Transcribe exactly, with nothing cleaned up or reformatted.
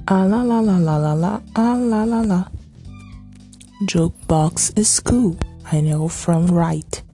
Ah la la la la la la, ah la la la. Jukebox is cool, I know from right.